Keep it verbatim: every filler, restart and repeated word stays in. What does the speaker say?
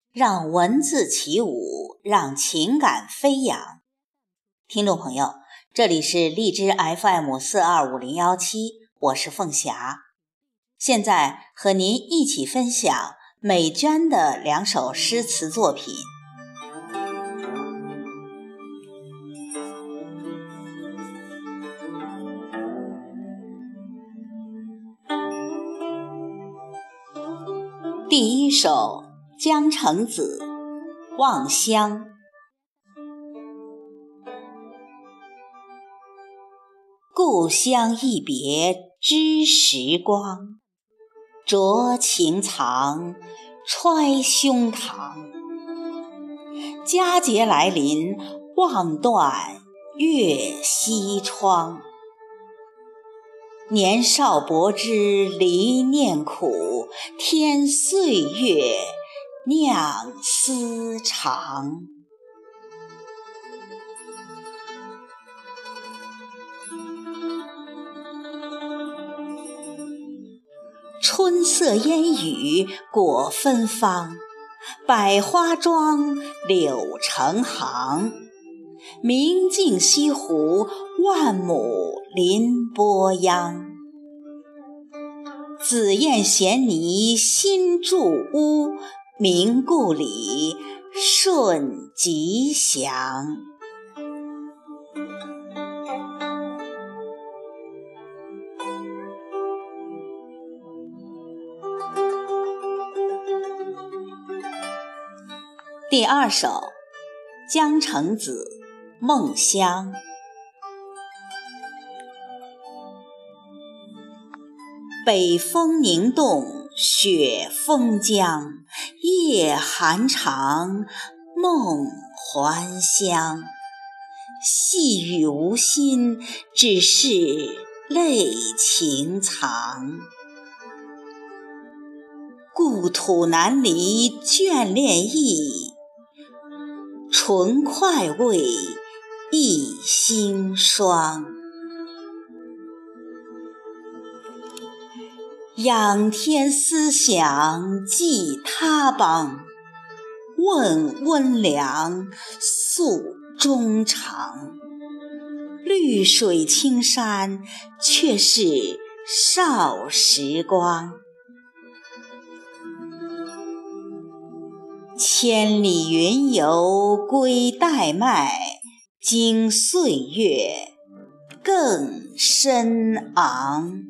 让文字起舞，让情感飞扬。听众朋友，这里是荔枝 F M 四二五零一七，我是凤霞。现在和您一起分享美娟的两首诗词作品。第一首，江城子·望乡。故乡一别知时光，酌情长，揣胸膛。佳节来临，望断月西窗。年少薄知离念苦，添岁月酿思长。春色烟雨果芬芳，百花庄，柳成行。明镜西湖，万亩林波央。紫燕衔泥新筑屋，明故里顺吉祥。第二首，江城子·梦乡。北风凝冻雪封疆，夜寒长，梦还乡。细雨无心，只是泪情藏。故土难离眷恋意，纯快慰一心霜。仰天思想寄他邦，问温凉诉衷肠。绿水青山却是少时光。千里云游归代麦，经岁月更深昂。